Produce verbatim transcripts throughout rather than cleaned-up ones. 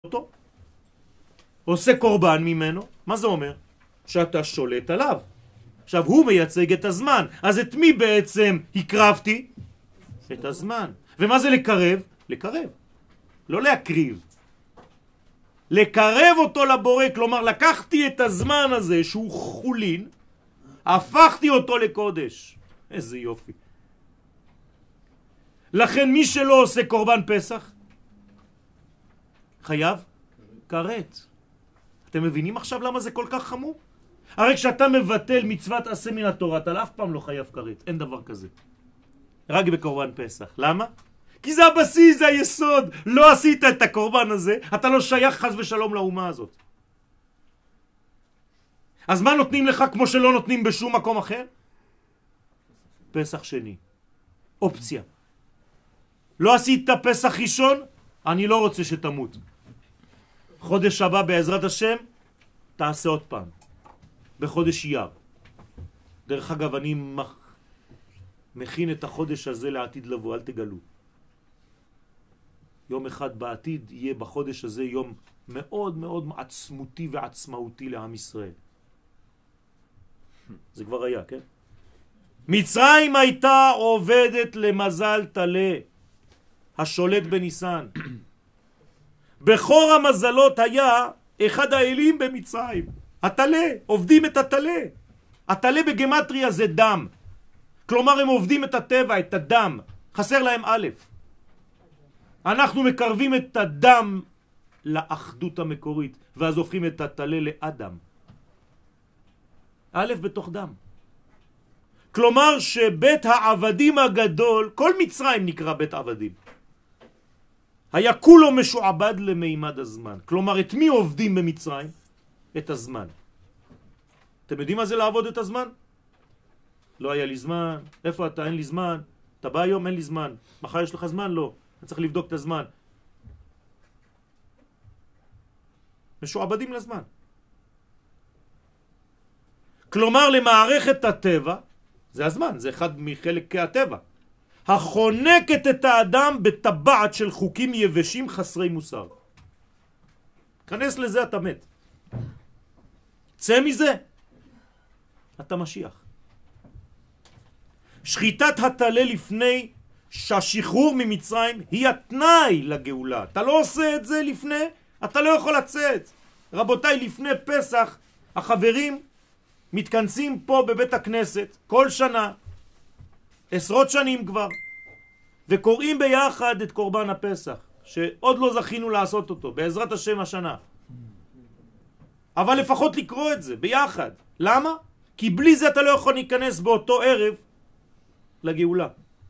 אותו, עושה קורבן ממנו. מה זה אומר? שאתה שולט עליו. עכשיו הוא מייצג את הזמן, אז את מי בעצם הקרבתי? את הזמן. ומה זה לקרב? לקרב, לא להקריב, לקרב אותו לבורא. כלומר לקחתי את הזמן הזה שהוא חולין, הפכתי אותו לקודש. איזה יופי. לכן מי שלא עושה קורבן פסח חייב כרת. אתם מבינים עכשיו למה זה כל כך חמור? הרי כשאתה מבטל מצוות עשה מן התורה, אתה אף פעם לא חייב כרת, אין דבר כזה. רק בקורבן פסח. למה? כי זה הבסיס, זה היסוד. לא עשית את הקורבן הזה, אתה לא שייך חס ושלום לאומה הזאת. אז מה נותנים לך כמו שלא נותנים בשום מקום אחר? פסח שני. אופציה. לא עשית פסח ראשון, אני לא רוצה שתמות. חודש הבא בעזרת השם, תעשה עוד פעם. בחודש אייר. דרך אגב, אני מח... מכין את החודש הזה לעתיד לבוא, אל תגלו. יום אחד בעתיד יהיה בחודש הזה יום מאוד מאוד עצמותי ועצמאותי לעם ישראל. זה כבר היה, כן? מצרים הייתה עובדת למזל תלה, השולט בניסן. בחור המזלות היה אחד האלים במצרים, התלה, עובדים את התלה. התלה בגמטריה זה דם. כלומר הם עובדים את הטבע, את הדם. חסר להם א'. אנחנו מקרבים את הדם לאחדות המקורית, ואז הופכים את התלה לאדם. א' בתוך דם. כלומר שבית העבדים הגדול, כל מצרים נקרא בית עבדים, היה כולו משועבד למימד הזמן. כלומר, את מי עובדים במצרים? את הזמן. אתם יודעים מה זה לעבוד את הזמן? לא היה לי זמן. איפה אתה? אין לי זמן. אתה בא היום? אין לי זמן. מחר יש לך זמן? לא. אני צריך לבדוק את הזמן. משועבדים לזמן. כלומר, למערכת הטבע, זה הזמן, זה אחד מחלקי הטבע, החונקת את האדם בטבעת של חוקים יבשים חסרי מוסר. כנס לזה, אתה מת. צא מזה, אתה משיח. שחיטת התלה לפני שהשחרור ממצרים היא התנאי לגאולה. אתה לא עושה את זה לפני, אתה לא יכול לצאת. רבותיי, לפני פסח החברים מתכנסים פה בבית הכנסת כל שנה, עשרות שנים כבר, וקוראים ביחד את קורבן הפסח, שעוד לא זכינו לעשות אותו, בעזרת השם השנה. אבל לפחות לקרוא את זה ביחד. למה? כי בלי זה אתה לא יכול להיכנס באותו ערב לגאולה.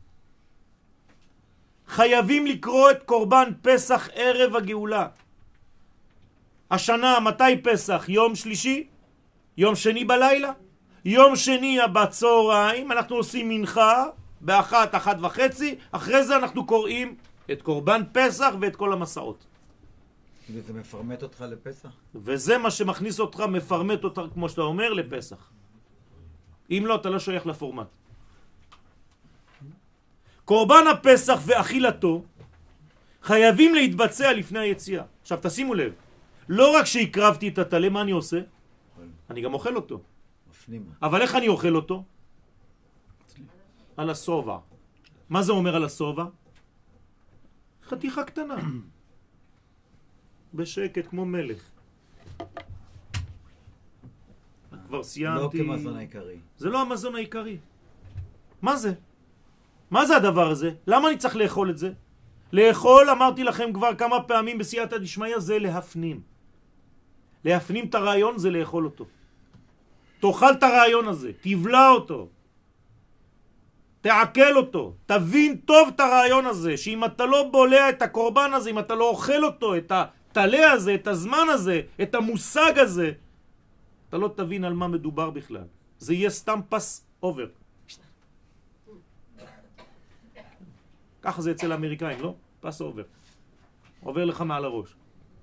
חייבים לקרוא את קורבן פסח ערב הגאולה. השנה, מתי פסח? יום שלישי? יום שני בלילה? יום שני בצהריים אנחנו עושים מנחה באחת, אחת וחצי, אחרי זה אנחנו קוראים את קורבן פסח ואת כל המסעות. וזה מפרמט אותך לפסח? וזה מה שמכניס אותך, מפרמט אותך, כמו שאתה אומר, לפסח. אם לא, אתה לא שייך לפורמט. קורבן הפסח ואכילתו חייבים להתבצע לפני היציאה. עכשיו תשימו לב, לא רק שהקרבתי את התלה, מה אני עושה? אני גם אוכל אותו. אבל איך אני אוכל אותו? על הסובה. מה זה אומר על הסובה? חתיכה קטנה. בשקט כמו מלך. כבר סיימתי. לא כמזון העיקרי. זה לא המזון העיקרי. מה זה? מה זה הדבר הזה? למה אני צריך לאכול את זה? לאכול, אמרתי לכם כבר כמה פעמים בסייעתא דשמיא, זה להפנים. להפנים את הרעיון זה לאכול אותו. תאכל את הרעיון הזה, תבלע אותו, תעכל אותו, תבין טוב את הרעיון הזה, שאם אתה לא בולע את הקורבן הזה, אם אתה לא אוכל אותו, את התלה הזה, את הזמן הזה, את המושג הזה, אתה לא תבין על מה מדובר בכלל. זה יהיה סתם פס אובר. ככה זה אצל האמריקאים, לא? פס אובר. עובר לך מעל הראש.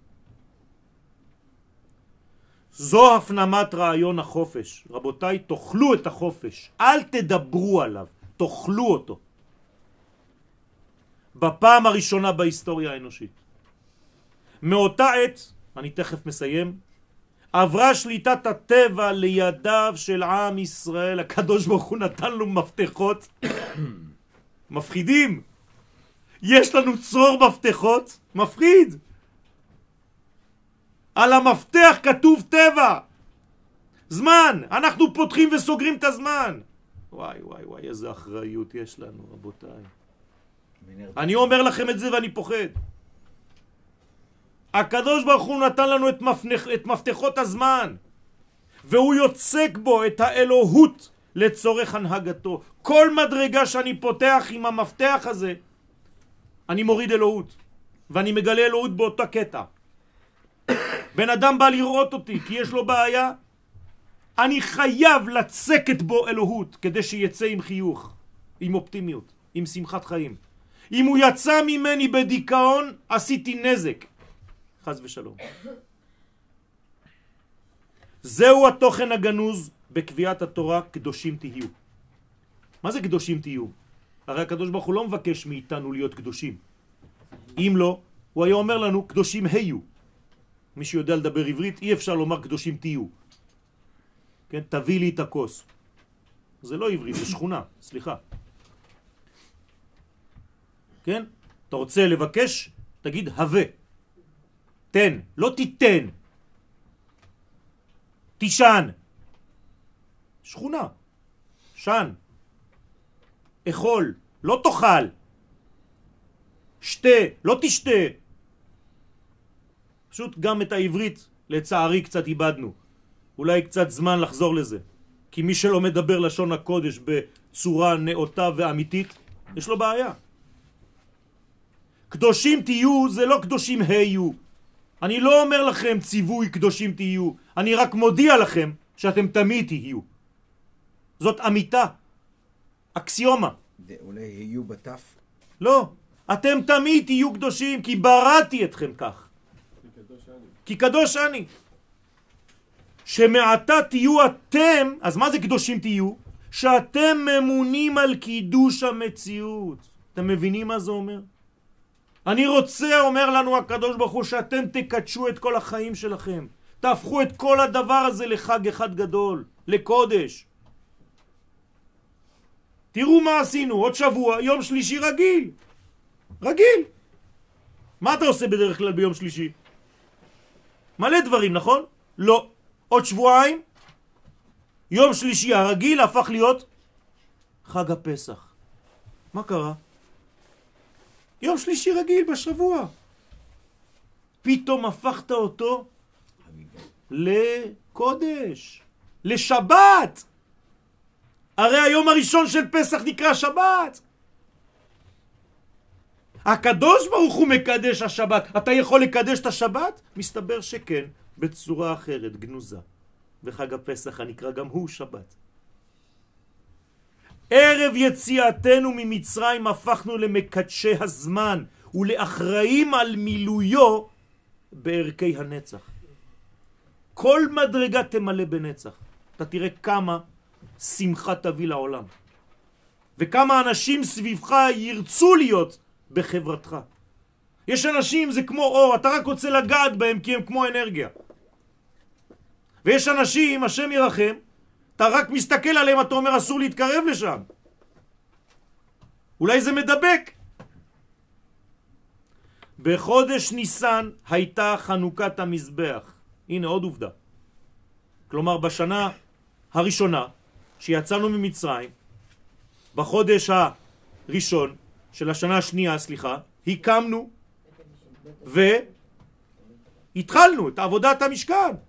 זו הפנמת רעיון החופש. רבותיי, תאכלו את החופש. אל תדברו עליו, תאכלו אותו. בפעם הראשונה בהיסטוריה האנושית. מאותה עת, אני תכף מסיים, עברה שליטת הטבע לידיו של עם ישראל. הקדוש ברוך הוא נתן לו מפתחות מפחידים. יש לנו צרור מפתחות מפחיד. על המפתח כתוב טבע, זמן. אנחנו פותחים וסוגרים את הזמן. וואי וואי וואי, איזה אחריות יש לנו, רבותיי. אני אומר לכם את זה ואני פוחד. הקדוש ברוך הוא נתן לנו את, מפנח, את מפתחות הזמן, והוא יוצק בו את האלוהות לצורך הנהגתו. כל מדרגה שאני פותח עם המפתח הזה, אני מוריד אלוהות, ואני מגלה אלוהות באותה קטע. בן אדם בא לראות אותי כי יש לו בעיה, אני חייב לצקת בו אלוהות כדי שיצא עם חיוך, עם אופטימיות, עם שמחת חיים. אם הוא יצא ממני בדיכאון, עשיתי נזק. חס ושלום. זהו התוכן הגנוז בקביעת התורה, קדושים תהיו. מה זה קדושים תהיו? הרי הקדוש ברוך הוא לא מבקש מאיתנו להיות קדושים. אם לא, הוא היה אומר לנו קדושים היו. מי שיודע לדבר עברית, אי אפשר לומר קדושים תהיו. כן, תביא לי את הכוס. זה לא עברית, זה שכונה, סליחה. כן? אתה רוצה לבקש, תגיד הווה. תן, לא תיתן. תישן. שכונה. שן. אכול, לא תאכל. שתה, לא תשתה. פשוט גם את העברית לצערי קצת איבדנו. אולי קצת זמן לחזור לזה. כי מי שלא מדבר לשון הקודש בצורה נאותה ואמיתית, יש לו בעיה. קדושים תהיו זה לא קדושים היו. אני לא אומר לכם ציווי קדושים תהיו. אני רק מודיע לכם שאתם תמיד תהיו. זאת אמיתה. אקסיומה. אולי יהיו בתף? לא. אתם תמיד תהיו קדושים כי בראתי אתכם כך. כי קדוש אני. שמעתה תהיו אתם, אז מה זה קדושים תהיו? שאתם ממונים על קידוש המציאות. אתם מבינים מה זה אומר? אני רוצה, אומר לנו הקדוש ברוך הוא, שאתם תקדשו את כל החיים שלכם. תהפכו את כל הדבר הזה לחג אחד גדול, לקודש. תראו מה עשינו, עוד שבוע, יום שלישי רגיל. רגיל. מה אתה עושה בדרך כלל ביום שלישי? מלא דברים, נכון? לא. עוד שבועיים, יום שלישי הרגיל הפך להיות חג הפסח. מה קרה? יום שלישי רגיל בשבוע. פתאום הפכת אותו לקודש, לשבת. הרי היום הראשון של פסח נקרא שבת. הקדוש ברוך הוא מקדש השבת. אתה יכול לקדש את השבת? מסתבר שכן, בצורה אחרת, גנוזה. וחג הפסח הנקרא גם הוא שבת. ערב יציאתנו ממצרים הפכנו למקדשי הזמן ולאחראים על מילויו בערכי הנצח. כל מדרגה תמלא בנצח. אתה תראה כמה שמחה תביא לעולם. וכמה אנשים סביבך ירצו להיות בחברתך. יש אנשים, זה כמו אור, אתה רק רוצה לגעת בהם כי הם כמו אנרגיה. ויש אנשים, השם ירחם, אתה רק מסתכל עליהם, אתה אומר אסור להתקרב לשם. אולי זה מדבק. בחודש ניסן הייתה חנוכת המזבח. הנה עוד עובדה. כלומר בשנה הראשונה שיצאנו ממצרים, בחודש הראשון של השנה השנייה, סליחה, הקמנו והתחלנו את עבודת המשכן.